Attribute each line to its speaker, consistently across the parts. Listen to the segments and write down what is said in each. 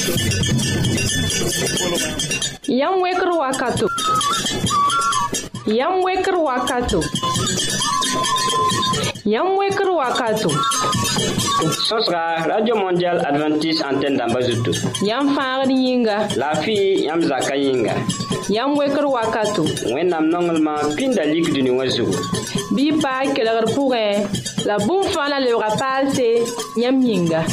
Speaker 1: Yam wekr wakato. Yam wekr wakato. Yam wekr wakato.
Speaker 2: Sosra Radio Mondial Adventiste Antenne d'Ambazuto.
Speaker 1: Yam faar yinga.
Speaker 2: La fi yam zaka yinga.
Speaker 1: Yam wekr wakato.
Speaker 2: Wennam nongelma pinda lik duni wazu.
Speaker 1: Bi pa kelgar pouré. La boum fana le rapase yam yinga.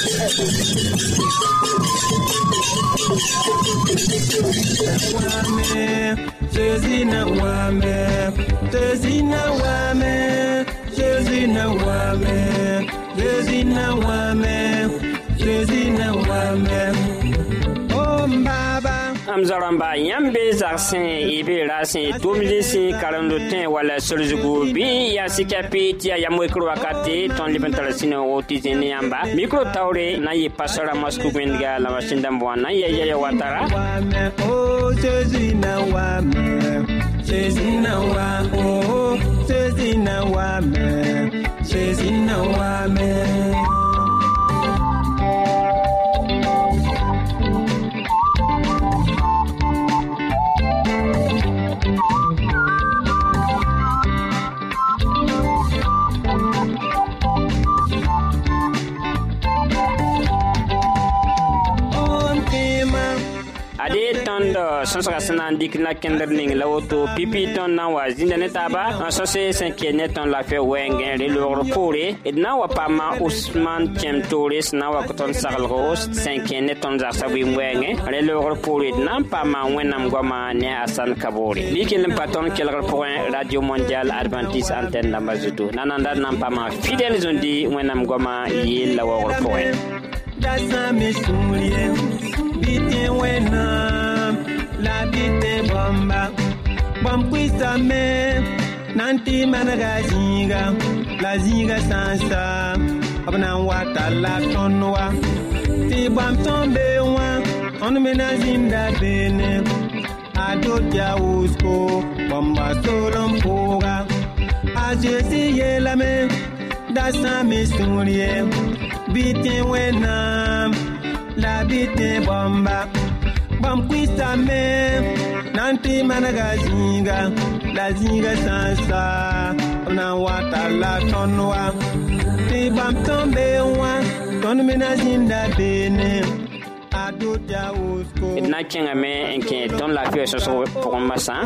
Speaker 3: Jésus na wame, Jésus na wame, Jésus na wame, Jésus na wame, Jésus na wame. Oh Baba.
Speaker 2: Amzaramba yambe zarsin ibe rasin tumlisi karando ten wala solzugo bi ya sikapiti ya mwekro wakati ton libentala sino otizeni yamba mikro taure na yi pasara masku gwendiga la mashinda mbwana ya watara.
Speaker 3: Oh Jésus na wame, Jésus na wa, oh Jésus na wame, Jésus na wame.
Speaker 2: Ade tondo sonsaka sanan dikna kender ning lawoto pipi ton na wa zinda netaba sose 5e neton la fe wengen re lor pore edna wa pama Ousmane Chemtores na wa koton sarlros 5e neton za sabi wengen re lor pore na pama wenam goma ne Asan Kabore likel paton kelgar point Radio Mondial Adventiste Antenne d'Ambazuto nananda nam pama fidèle zondi wenam goma yel la wa point
Speaker 3: Dasa misoulie Bite wena la bite bomba Bompuisa me Nanti managa zinga La zinga sansa Abna wata la tonwa Ti bam tombe wa On mena zinda bene Ado dia usko Bomba solom poga Ajesi yelame Dasa misoulie Bite wena La bite bomba Bompuisa me Nanti managa zinga La zinga sansa Na wata la tonwa Ti bam tombe wa Ton mena zinda bene Ado dia usko
Speaker 2: Idna kenga me enke ton la fie soso pokomasa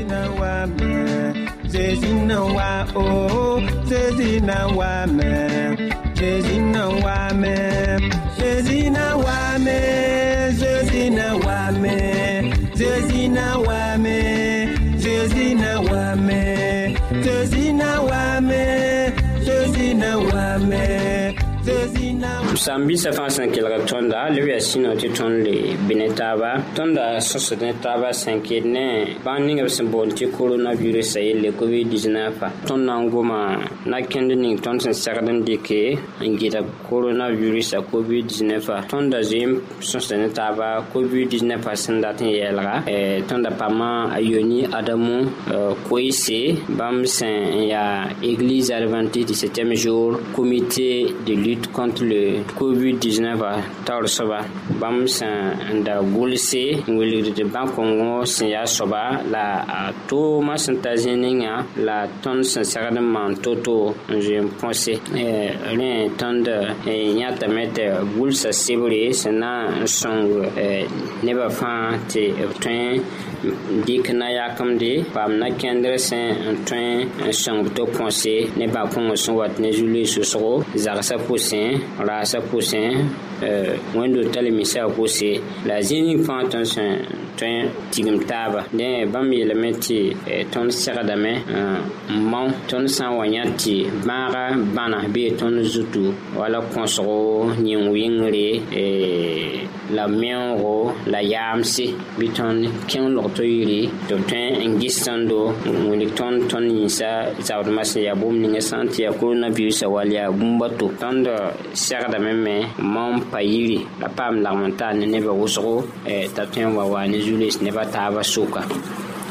Speaker 3: Zezina wa oh Zezina wa me Zezina wa me Zezina wa me Zezina wa me Zezina wa me Zezina wa me Zezina wa me Zezina wa me
Speaker 2: Sambi sa fansan kelga tonda lewi asino ti tonle binetaba tonda sosenetaba sankene banninga symbol ti coronavirus ayele covid-19 tonna ngoma na kendini tonsen sardan dike ngita coronavirus a covid-19 tonda zim sosenetaba covid-19 sandatin yelga tonda pama ayoni adamu koise bamsen ya église adventiste du 7e jour comité de lutte contre le COVID-19 tar soba bam san da gulse nguli de bankongo sinya soba la to masantazininga la ton san man toto je pense rien ton de nyata mete gulsa sebre sana song neba fa te train dikna yakamde pam na kendre sen train song to pense ne ba kongo son wat ne juli so zarsa poussin rasa poussin wendo tale misa poussin la zini fanton sen train tigim taba de bam yelemeti ton sagadame mon ton san wanyati mara bana be ton zutu wala konsoro nyin wingre la mienro la yamsi biton ken lokto yiri to train ngistando woni ton yisa zawdmas ya bom ninga santi ya coronavirus walia bumbato tando sagada meme mon payiri la pam la montagne ne ba wosoro tatien wa ne julis ne ba taba suka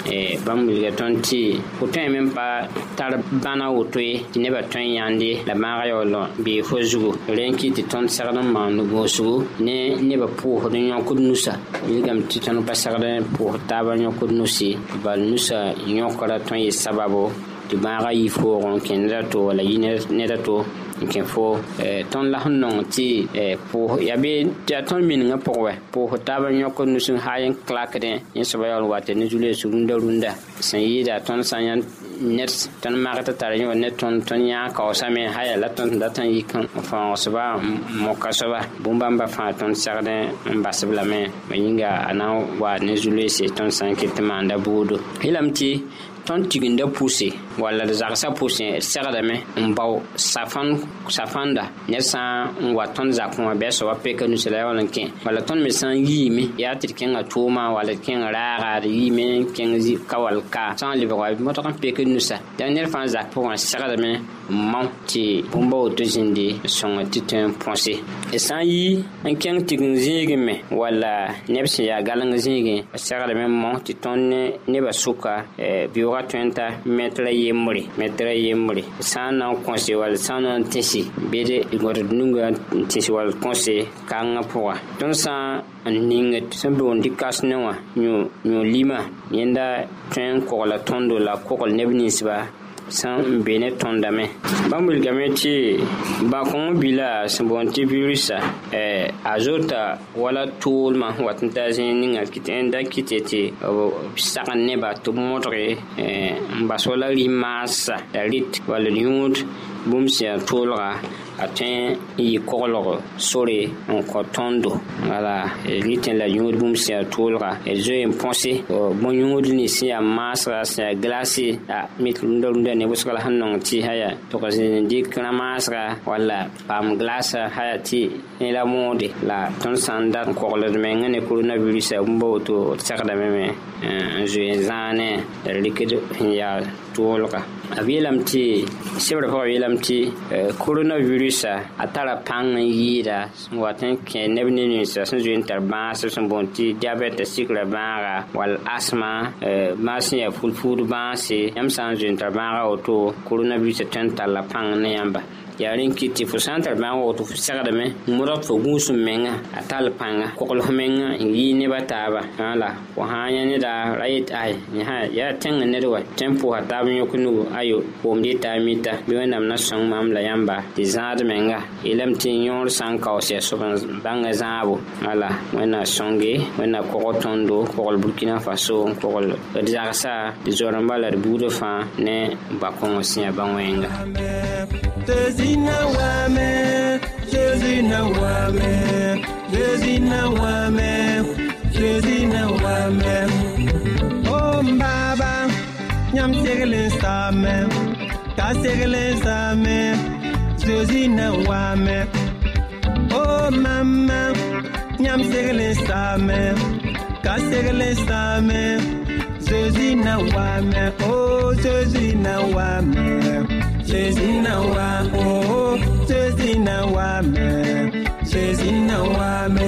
Speaker 2: bãmb wilga tõnd tɩ fo tõe me n pa tar bãna woto ye tɩ nebã tõe n yãnde la maaga yaool bee fo zugu rẽ n kɩ tɩ tõnd segd n maan gõosgu ne nebã pʋʋsd n yõkd nusa wilgame tɩ tõnd pa segd n pʋʋsd taaba yõkd nusi bal nusa yõkra tõe n yɩ sababo tɩ maaga yɩ foog n kẽ neda to wala yɩ neda to n kẽ fo tõnd la sẽn nong tɩ pʋʋs yaa bee tɩ tõnd miningã pʋgẽ wɛ pʋʋsd taaba yõkd nus n haa yen klakdẽ yẽ soaba yaool wat ne zu-leesg rũndã sẽn yɩɩda tõnd sã n yãn ned tõnd mag tɩ tar yõ ne tõnd yãa kaoosame ha yaa la tõnd dat n yik n fãogsba moka soaba bũmb-bãmbã fãa tõnd segd n basb lame ba yĩnga a na n wa ne zu-leese tõnd sã n ket tɩ maanda buudo yeelame tɩ tõnd tigenda pʋse walla d zagsã pʋsẽ d segdame n bao safãnda ned sã n wa tõnd zakẽ wã bɩ a soaba peka nusa la yaool n kẽ walla tõnd me sã n yiime yaa tɩ d kẽnga tʋʋma walla d kẽng raaga d yiime n kẽng ka wall ka sã n lebg wa modg n pek nusa dã ned fãa zak pʋgẽ segdame n mao tɩ bũmba woto zĩndi sõng tɩ tõe n põse d sã n yi n kẽng tign zĩigẽ me walla neb sẽn yaa galeng zĩigẽ segdame n mao tɩ tõnd ne nebã sʋka bɩooga tõe n ta metra yembre sã n na n kõse wall sã n na n tẽse bɩd gõdd nungã n tẽse wall kõse kangã pʋga tõnd sã n ningd sẽn boond tɩ kas ne wã yõ lima yẽnda tõe n kogla tõndo la kogl neb ninsba sẽn n be ne tõndame bãmb wilgame tɩ bãkõng bila sẽn boond tɩ virusã a zota wala tʋʋlmã wat n ta zẽ ninga n da kɩte tɩ b sagn nebã tɩ b modge n bas wala rɩ-maasa la rɩt wall d yũud bũmb sẽn yaa tʋʋlga a tõe n yɩ koglg sore n kõ tõndo wala rɩtẽ la yũud bũmb sẽn yaa tʋʋlga d zoe n põse bõn-yũud ni sẽn yaa maasga sẽn yaa glase mit rũndã ne wʋsga la sẽn nong tɩ aya tʋg zĩnd dɩk rã-maasga walla paam glasa aya tɩ ne la moode la tõnd sã n dat n kogld mengã ne coronavirusã bũmba woto d segdame me n zoe n zãane la rɩkd sẽn yaa tʋʋlga a yeelame tɩ sebrã pʋgã yeelame tɩ coronavirusã a tara pãng n yɩɩda sẽn wat n kẽ neb ne ninsã sẽn zoe n tar bãasb sẽn boond tɩ diabɛta sikra bãaga wall asma bãas sẽn yaa fulfuud bãase yãmb sã n zoe n tar bãaga woto coronavirusã tõe n talla pãng ne yãmba yaa rẽ kɩ tɩ fo sã n tar bãaga woto fo segdame n modg fo gũusum menga a tall pãnga koglf menga n yɩɩ nebã taaba la fo sã n yã neda ra yet yaa tẽng ned wa tõe n pʋʋsa taab yõk nugu ayo boomd yeta a mita bɩ wẽnnaam na sõng maam la yãmba tɩ zãad menga yeelame tɩ yõor sã n kaoos yaa sob n bãnga zãabo wala wẽnna sõnge wẽnna kogl tõndo kogl burkina faso n kogl d zagsa d zoarẽmba la d buudã fãa ne bakõng sẽn yaa bã-wẽnga
Speaker 3: Jésus na wame, Jésus na wame, Jésus na wame, Jésus na wame. Oh Baba, nyam segle same, ka segle same, Jésus na wame. Oh Mama, nyam segle same, ka segle same, Jésus na wame. Oh Jésus na wame. Jésus na wa oh Jésus na wa me Jésus na wa me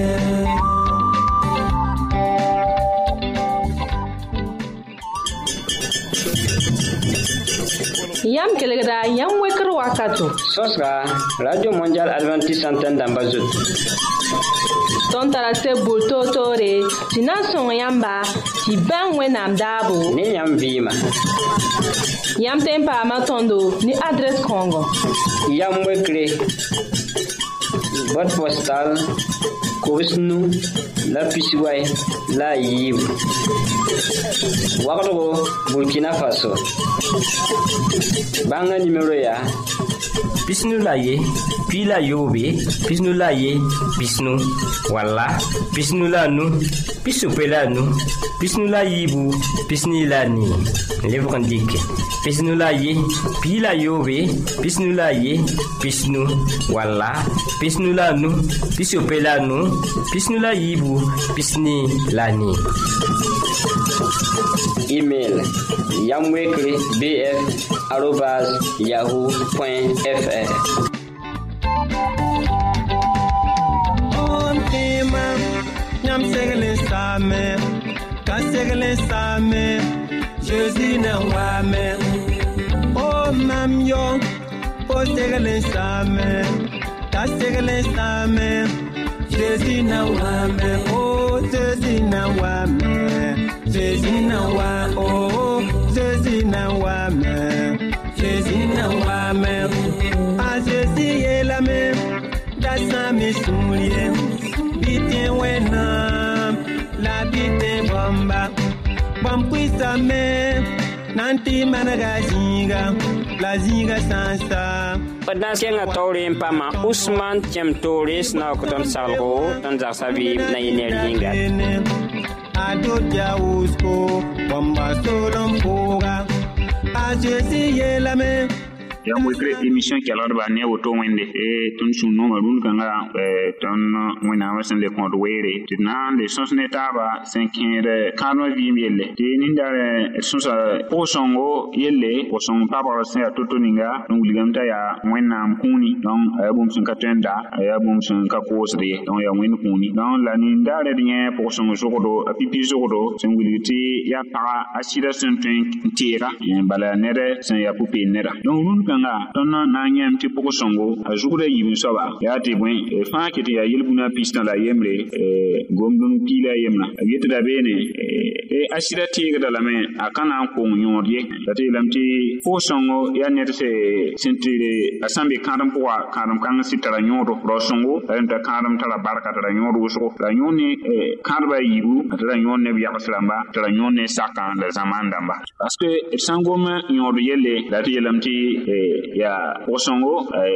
Speaker 1: yam kelgda yam wekr wakato
Speaker 2: sõsga radio mondial adventiste antenne dãmba zut
Speaker 1: tõnd tara seb bʋʋr toor-toore tɩ na n sõng yãmba tɩ bãng wẽnnaam daabo
Speaker 2: ne yãmb vɩɩma
Speaker 1: yãmb tõe n paama tõndo ne adrɛs kãongo
Speaker 2: yam wekre boîte postale kobs-nu la pisway la a yiibu wagdgo burkina faso bãngã nimero yaa
Speaker 4: pisnu la ye pi la yobe pisnu la ye pisnu walla pisnu la nu pisupe la nu pisnu la yibu pisni la ni lebg n dɩke pisnu la ye pi la yobe pisnu la ye pisnu walla pisnu la nu pisupe la nu pisnu la yibu pisni la ni.
Speaker 2: Email yamwekre@yahoo.fr.
Speaker 3: On tema nyam segle same ka ta segle same Jésus na wame oh mam yo o segle same ta segle same Jésus na wame oh Jésus na wame Jésus na wa oh Jésus na wame Jésus na wame a Jésus est la même dans mes souliers bitin wena la bitin bomba bom puisa me nanti managa zinga la zinga sansa
Speaker 2: Padan kenga tawre pama Usman Tiem Torres na ko ton salgo ton zaksabi na yiner yinga
Speaker 3: ado jausko bomba solom poga a Jésus est la même
Speaker 5: ya mo kre émission qui alors ba ne woto wende e ton sunno marun kanga ton wena wasen le compte were tina le sons netaba 5 kano vi miele de nindare sonsa posongo yelle posong papa sen toto ninga donc ligamta ya wena mkuni donc abum sun katenda abum sun kakosre donc ya wena kuni donc la nindare rien posongo jogodo apipi jogodo sen wiliti ya para asira sen tira bala nere sen ya pupi nera donc nun tonna na nyam ti poko songo a jugre yibin soba ya ti bwen fa kiti ya yelbuna pistan la yemre gomdun kila yemna yete da bene asira ti ga la men akana ko nyordie dati lamti poko songo ya net se sentire asambe kadam poa kadam kan sitara nyodo ro songo enta kadam tala barka tara nyodo so la nyoni kadba yibu tara nyonne biya kaslamba tara nyonne saka la zamandamba parce que sangoma nyodo yelle dati lamti ya osongo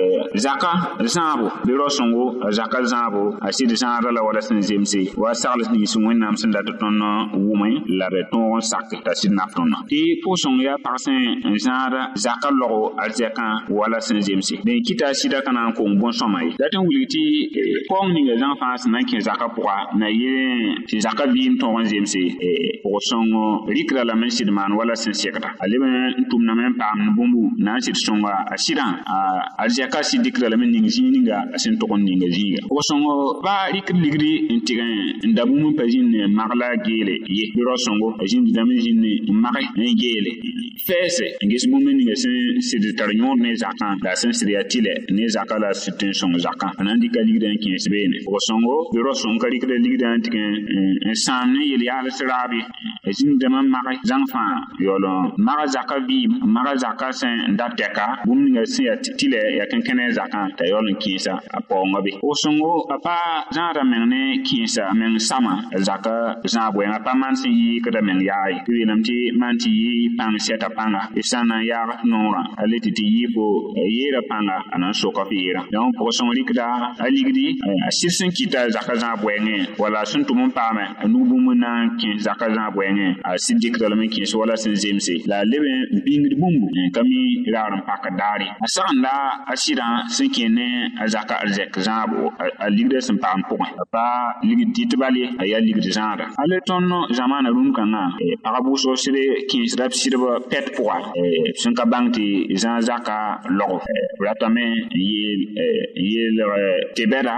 Speaker 5: zaka zambo de rosongo zaka zambo asidi zara la wala sen zemsi wa sarles ni sun nam sen da ton wumay la beton sak ta sin naftona ti posong ya parsen zara zaka logo alzeka wala sen zemsi de kita sida kana ko bon somay daten wuliti pong ni les enfants na ki zaka poa na ye ti zaka bin ton zemsi osongo rikra la men sidman wala sen sekata alebe tumna men pam bumbu na sit songa asira aljaka sidikra la men ninga asin to kon ninga ziga o songo ba likri intigan ndabu mun pajin magla gele ye biro songo ajin damen jin magay gele fesse ngis mun ninga sin tar nyon ne zakan la sin siriatile ne zakala sitin songo zakan anandi kaligdan kin sbene o songo biro songo kalikre ligdan tigan sanne yeli ala sirabi ajin daman magay zanfa yolo maga zakabi maga zakasen ndateka bumninga siya tile ya kenkene zakan ta yolin kinsa aponga be o songo apa zara menne kinsa men sama zaka zabwe apa mansi yi kada men yayi wilamti manti yi pang seta panga isana ya nora aleti ti yi bo yera panga anan soka fira donc o songo likda aligdi asirsen kita zaka zabwe nge wala suntu mun pame nubu muna kin zaka zabwe nge asidikra la men kinsa wala sin zemse la lebe bingri bumbu kami raram pakadari asanda asira sinkene azaka alzek zabo aligde sin pam pokon pa ligdi titbali aya ligdi zara ale tonno zamana rum kana parabu so sire kin srap sirba pet poa sin ka bangti zan zaka logo ratame yel tebera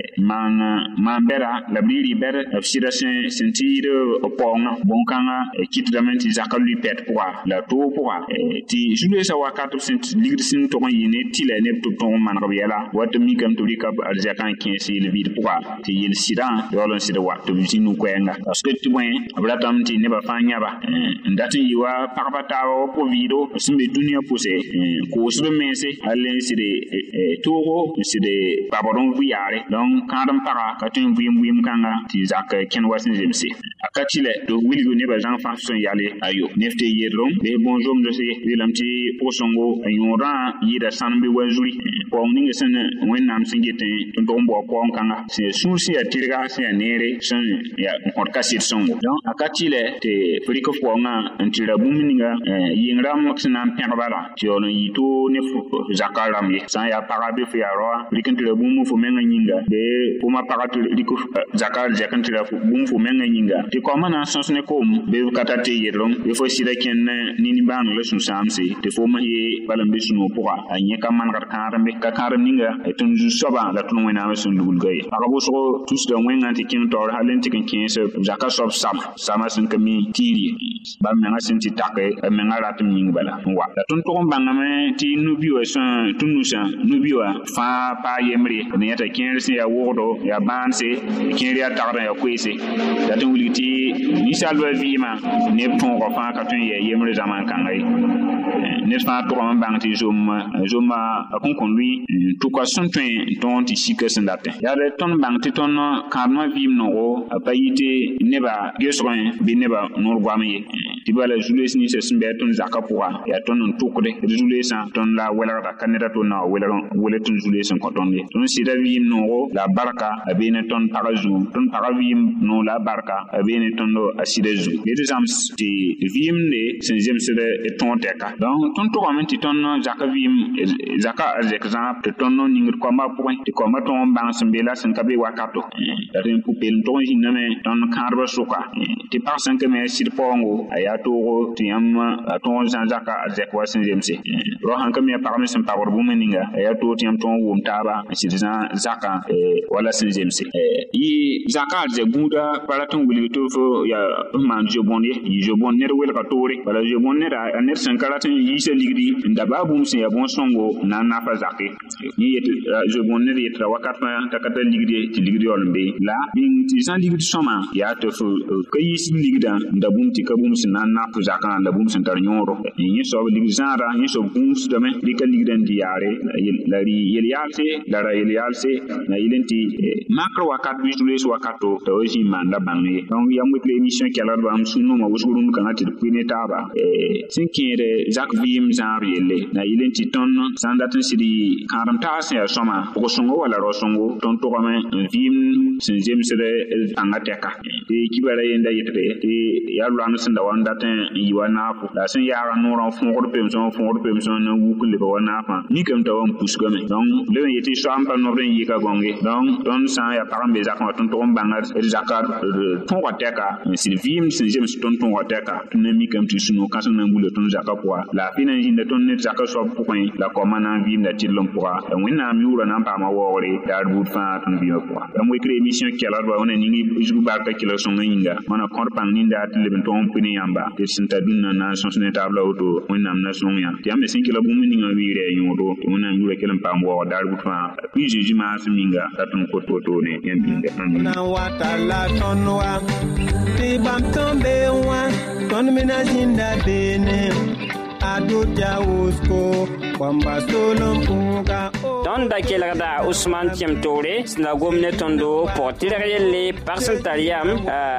Speaker 5: man bera la biri ber sira sentire opona bonkanga kitramenti zaka lui pet poa la to poa ti jule sa wakatu sent ligdi sin to yene tila ne to ton man ko yela wat mi kam to rika aljakan kinsi le vid poa ti yel sidan yolon sida waktu zinu kwenga parce que ti bwen abratam ti ne ba fanya ba ndati yiwa parpata o po vido simbe dunia pose ko sbe mese allen side togo side babodon vuyare donc kadam para katin vuyim kanga ti zakka ken wasin jemse akatile do wilgo ne ba jan fanson yale ayo nefte yedrom be bonjour de se wilamti posongo ayora yida sanbe wazuri ko ninga sen wennam singete ndombo ko kanga se susi atirga se nere sen ya on kasit songo donc akatile te friko fonga antira buminga yingram sinam perbala tiono yito ne zakaram ye san ya parabe fi aro likantira bumu fo menga nyinga be puma paratu liko zakal jakantira bumu fo menga nyinga te ko mana sons ne kom be katate yedrom be fo sira ken nini banu le sun samse te fo ma ye balam be sunu puga anye ka man karbe ka karam ninga tun ju soba la tun wena sun dugul gay akabo so tous de wenga ti kin tor halen ti kin se jaka sob sama sun kami tiri ba menga sin ti take menga ratum ning bala wa la tun to banga me ti nubiwa san tunusa nubiwa fa pa yemri ne ta kin se ya wodo ya banse kin ya tagra ya kwese da tun wuliti ni salwa vima ne ton ko fa ka tun ye yemri zaman kan ai ne fa to man bang ti zoma akon kon lui to ko son ton ti sika sendate ya de ton bang ti ton karma vim no apayite neba gesron bi neba nur gwamiye ti bala jules ni se smbe ton zakapwa ya ton tukde jules ton la wala ka kaneda ton na wala ton jules ko ton ye ton sida vim no la baraka abene ton parazu ton paravim no la baraka abene ton do asida zu les exams ti vim ne sen jemsede et ton teka donc ton to amenti ton zakavim zaka exemple ton no ningir ko ma point ti ko ma ton bang sembela sen kabe wakato da ten pupel ton hiname ton karba suka ti parsan ke me sir pongo aya to ti am ton zaka azekwa sen jemse ro han ke me parmi sen power bu meninga aya to ti am ton wum taba sir zaka wala sen jemse yi zaka ze guda paraton wuli to fo ya man jobonye yi jobon ner wel ka tori wala jobon ner a ner sen karatin yi se ligri ndaba bum se ya bon songo na fa zake ni yet jobon ner yet wakat ma takata ligri ti ligri olmbe la bin ti san ligri soma ya to fo kayi sin ligda ndabum ti kabum sin na fa zaka ndabum sin tar nyoro yi so ligri zara yi so bum su dame di ka ligri ndiare la ri yelialse la ra yelialse na ilenti makro wakat bi jules wakato to ji manda bangi donc ya mo émission qui a l'air de sunu ma wusuru kan ati pine taba sin kire zak vim zanriele na ilenti ton sandatin sidi karam ta se soma ko songo wala ro songo ton to kama vim sin jem sede angateka e kibara yenda yitre e ya lwanu sinda wanda tan yiwana fu la sin ya ran no fongo pemson na wukule ba wana fa ni kam ta won pusgo me donc le yeti shamba no ren yika gonge donc don sa ya parambe zakon ton to bangar zakar ton wateka sin vim sin jem ton wateka ton mi kam tu suno kasan na ngule ton zakapwa la fina jinda ton net zakaso point la komana vim da tilom poa wona mi wura na pa ma wore da bud fa ton bi poa da moy créer mission qui ala do wona ni jugu ba ka kilo so nginga mana kon pang ni da tilben ton pini yamba te sinta dunna na sonsne tabla auto wona na sonya ti am sin kilo bum ni ngawi re yodo wona mi wura kelam pa mo da bud fa puis jeji ma minga da ton ko to ne yambinde
Speaker 3: na wata la tonwa ti bam tombe wa ton menazinda bene ado jausko kwamba solom puga
Speaker 2: ton da kelada Ousmane Tiemtore na gomne tondo portire yelle parcentariam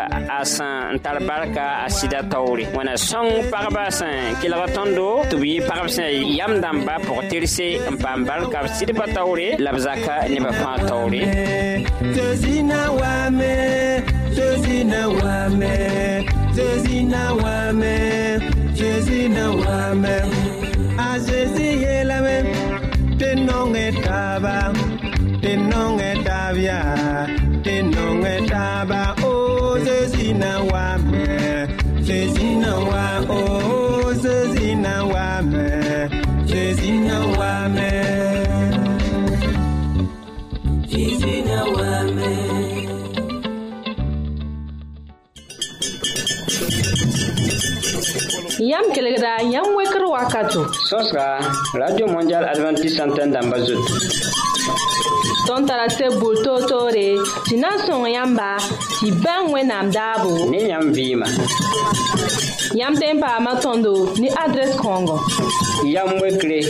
Speaker 2: asan tarbarka asida tawri wana song parbasan kelada tondo tubi parbasan yam damba portirse pambal ka sidba tawri labzaka ne ba fa tawri
Speaker 3: zina wame azezi yelame tenonge taba o zezina wame o zezina wame
Speaker 1: Yam kelegda yam weker wakato.
Speaker 2: Sosra Radio Mondial Adventiste Antenne d'Ambazut.
Speaker 1: Ton tarase bulto tore tina son yamba ti ban wenam dabo.
Speaker 2: Ni yam vima.
Speaker 1: Yam tempa matondo ni adresse Congo.
Speaker 2: Yam wekre.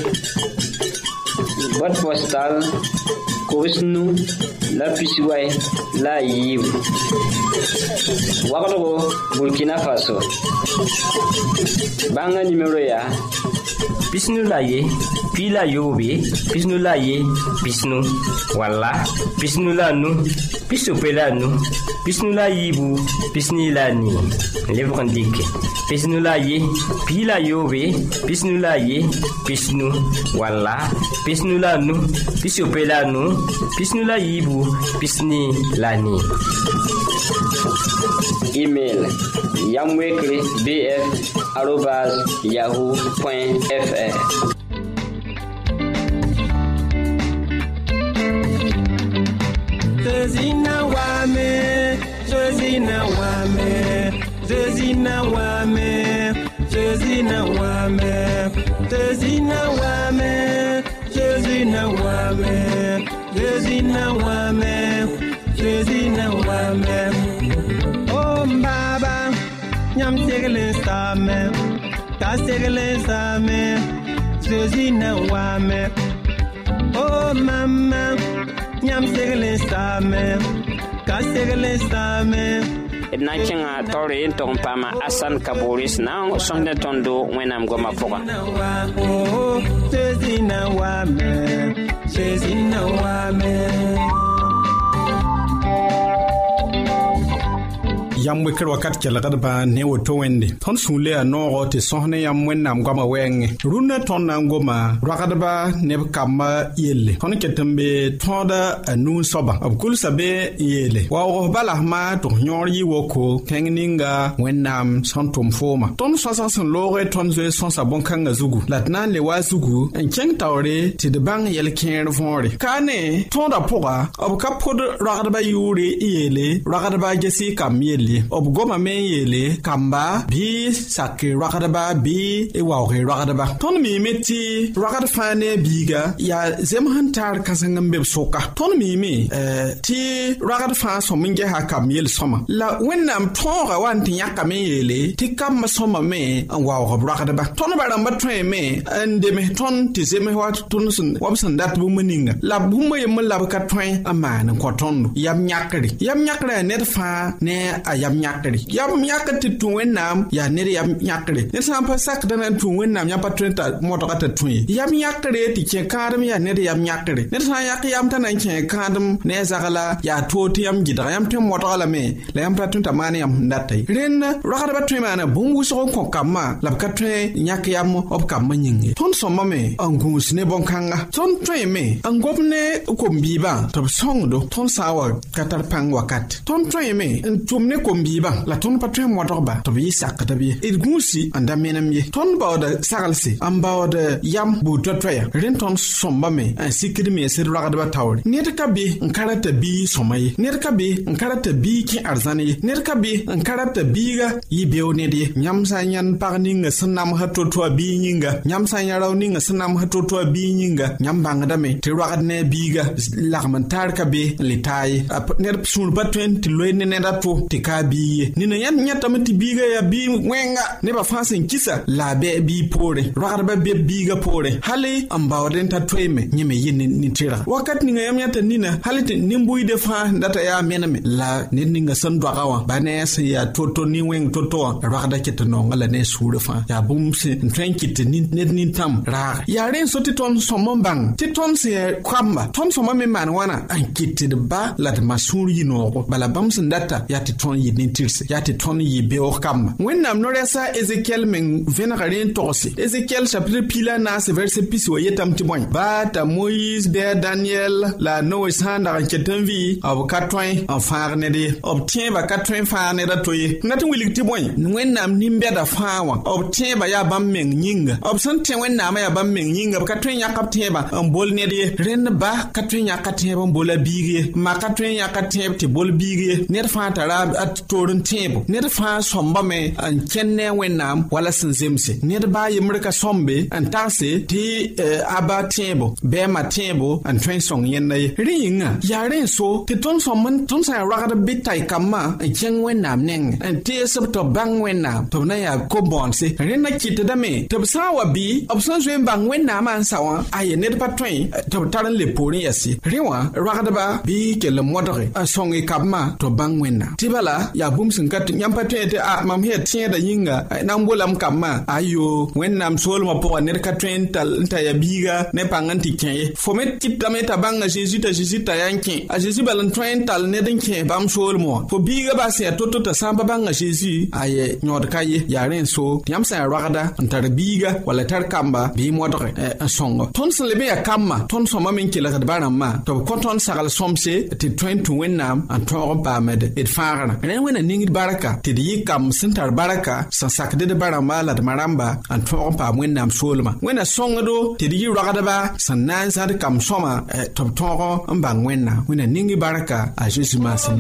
Speaker 2: Boîte postale Kosnu la Pisiway la Yib. Wakato Burkina Faso. Banga numéro ya
Speaker 4: Pisnu la ye, pi la yobe, pisnu la ye, pisnu, wala, pisnu la nu, pisope la nu, pisnu la yibu, pisni la ni, livre indique. Pisnu la ye, pi la yobe, pisnu la ye, pisnu, wala, pisnu la nu, pisope la nu, pisnu la yibu, pisni la ni.
Speaker 2: Email yamwekre bf@yahoo.fr
Speaker 3: Josina wame, Josina wame, Josina wame, Josina wame, Josina wame, Josina wame, Josina wame, Josina wame. Oh baba, nyam tegle same, ta tegle same, Josina wame. Oh mama, nyam tegle same, ka tegle same.
Speaker 2: na kinga tore to pama asan kaboris na sonde tondo wenam goma poka
Speaker 3: Oh Josina wame, Josina wame.
Speaker 6: yam we kër wakat ke lagad ba ne woto wende ton sule a no te sohne yam wennam goma wenge runa ton na ngoma ragad ba ne kama yelle ton ke tembe tonda anu soba ab kul sabe yelle wa o bala ma to nyor yi woko kengninga wennam santum foma ton sosa son lore ton ze son sa bon kanga zugu latna le wa zugu en keng tawre ti de bang yel ken vonre kane tonda poga ab kapod ragad ba yure yelle ragad ba jesi kam yelle ob goma men yele kamba bi sakki rakadaba bi e wawre rakadaba ton mi meti rakad fane biga ya zemhantar kasangam be soka ton mi ti rakad fa so minge ha kam yel soma la wennam tonga wan ti yakka men yele ti kam soma me an wawre rakadaba ton baramba tren me ande me ton ti zeme wat ton sun wabsan dat bu meninga la bu me yem la ka tren amana ko ton yam nyakri net fa ne yam nyakati tu wennam ya nere yam nyakre ne sampa sak dana tu wennam ya patrenta motoka ta tu yam nyakre ti ke kadam ya nere yam nyakre ne sa yak yam tan ke kadam ne zagala ya toti yam gida yam tem motoka la me la yam patrenta mane yam ndatai ren rakada ba tu mana bungu so ko kamma la ka tre nyak yam op kamma nyinge ton somma me angus ne bonkanga ton tre me angopne ko mbiba to songdo ton sawa katar pang wakat ton tre me tumne ko mbiba la ton patwe motorba to bi sakata bi idgusi anda menam ye ton bawda sagalsi am bawda yam bu totya ren ton somba me an sikiri me sir ragada ba tawri netka bi nkarata bi somay netka bi nkarata bi ki arzani netka bi nkarata biga yibew ne de nyam sa nyan parninga sanam hatoto bi nyinga nyam sa nyaraw ninga sanam hatoto bi nyinga nyam bangada me te ragad ne biga lagmantar ka be litay ner sul patwen ti loyne ne dato te ka bi ni na yan nyata mati biga ya bi wenga ne ba fasin kisa la be bi pore ragada ba be biga pore hali ambawden ta tweme nyeme yin ni tira wakat ni ngam nyata nina halite nimbui de fa data ya mename la ni nga san dwagawa ba ne ya toto ni weng toto ragada ketno ngala ne suru fa ya bumse trankit ni tam ra ya ren soti ton somombang ti ton se kwamba ton soma me man wana ankiti de ba la de masuri no bala bamsin data ya ti ton yin tirse ya ti ton yi be o kam wennam no resa Ezekiel men venagarin tosi Ezekiel chapitre pila na se verset piso yetam ti boy ba ta Moïse be Daniel la Noé sanda ketanvi ab katwin en farne de obtient ba katwin farne da toye ngati wilik ti boy wennam nimbe da fawa obtient ba ya bam men nyinga obsan te wennam ya bam men nyinga katwin yakap teba en bol ne de ren ba katwin yakap teba bola bige ma katwin yakap teba ti bol bige ne fa tara at torun tebo ne fa somba me an kenne wennam wala sinzemse ne ba yimrika sombe an tase ti aba tebo be ma tebo an train song yenna ringa ya ren so ti ton somman ton sa ragada bitai kama an ken wennam neng an ti sub to bang wennam to na ya ko bonse ren na kite da me to sawa bi option zwen bang wennam an sawa aye ne pa train to taran le pori yasi rewa ragada ba bi ke le modre a song e kama to bang wennam ti bala ya bum sin kat nyam pa train te a mam he tie da yinga nam bolam kama ayo wennam sol ma po ne ka train tal ta ya biga ne pangan ti ken fomet kit da me ta banga Jesus ta yanki a Jesus balan train tal ne den ken bam sol mo fo biga ba se toto ta samba banga Jesus aye nyod kaye ya ren so yam sa ragada antar biga wala tar kamba bi modre songo ton se lebe ya kama ton so ma min kila ka baram ma to ko ton sagal somse ti train to wennam an to ba med it farana ne yen wẽna ningd barka tɩ d yɩ kam sẽn tar barka sẽn sakd d barãmba la d marãmba n tõog n paam wẽnnaam soolmã wẽna sõngdo tɩ d yɩ roagdba sẽn na n zãd kam sõma tɩ b tõog n bãng wẽnna wẽna ning barka a Zeezi maasem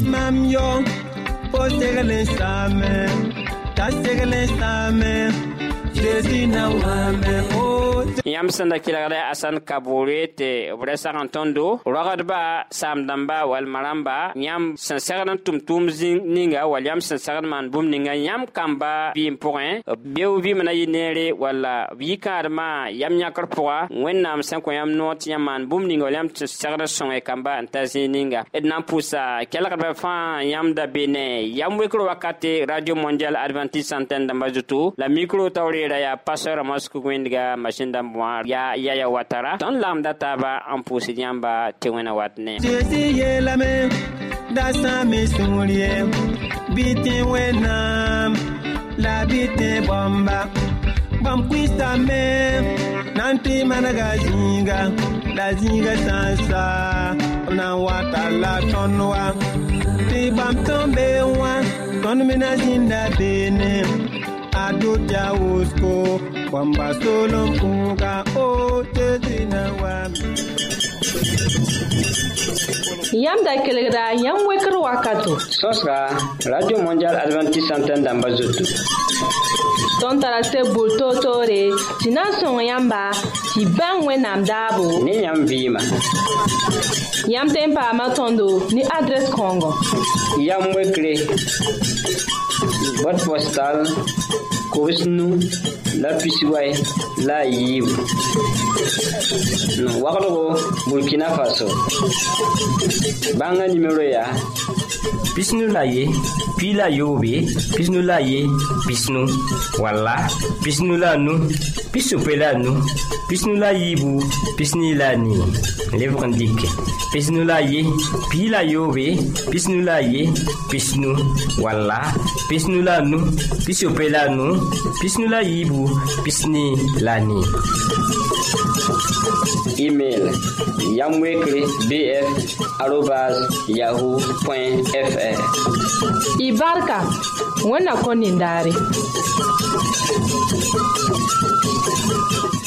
Speaker 2: yãmb sẽn da kelgd asan kabore tɩ b ra sag n tõndo roagdba saam-dãmba wall marãmba yãmb sẽn segd n tʋm-tʋʋm ninga wall yãmb sẽn segd maan bũmb ninga yãmb kamba vɩɩm pʋgẽ beo vɩɩm na yɩ neere walla b yi-kãadmã yam yãkr pʋga wẽnnaam sẽn kõ yãmb noog tɩ yãmb maan bũmb ninga wall yãmb sẽn segd n sõng kamba n ta zĩig ninga d na n pʋsa kelgdbã fãa yãmb da be ne yam wekr wakate radio mondial adventiste antenne dãmba zutu la micro taoreera yaa pastor Moscow wẽndga machine dãmb wã yaa yaya watara tõnd lamda taaba n pʋʋsd yãmba tɩ wẽna wat ne
Speaker 3: Zeezi yeelame da sãame sũur ye bɩ tẽ wẽnnaam la bɩ tẽ bõmba bãmb kʋɩsame nan tɩ manega zĩiga la zĩiga sã n sa b na n wata la tõnd wa tɩ bãmb tõnd bee wã tõnd me na zĩnda beene a dʋta wʋsgo bõmba soolem pʋʋga o Zeezi na wame
Speaker 1: yãmb da kelgda yãmb wekr wakato
Speaker 2: sõsga radio mondial adventiste antenne dãmba zutu
Speaker 1: tõnd tara tɩ bʋr toor-toore tɩ na n sõng yãmba tɩ bãng wẽnnaam daabo
Speaker 2: ne yãmb vɩɩma
Speaker 1: yãmb tẽ n paama tõndo ne adrɛs kãongo
Speaker 2: yam wekre boîte postale kobsnu la pisiway la a yiibu wagdgo Burkina Faso bãnga nimero yaa
Speaker 4: pisnu la ye pi la yoobe pisnu la ye pisnu walla pisnu la nu pisope la nu pisnu la yiibu pisni la ni lebg n dɩke pisnu la ye pi la yoobe pisnu la ye pisnu walla pisnu la nu pisope la nu pisnu la yiibu pisni la ni
Speaker 2: email yamwekre bf@yahoo.fr
Speaker 1: y barka wẽnna kõ nindaare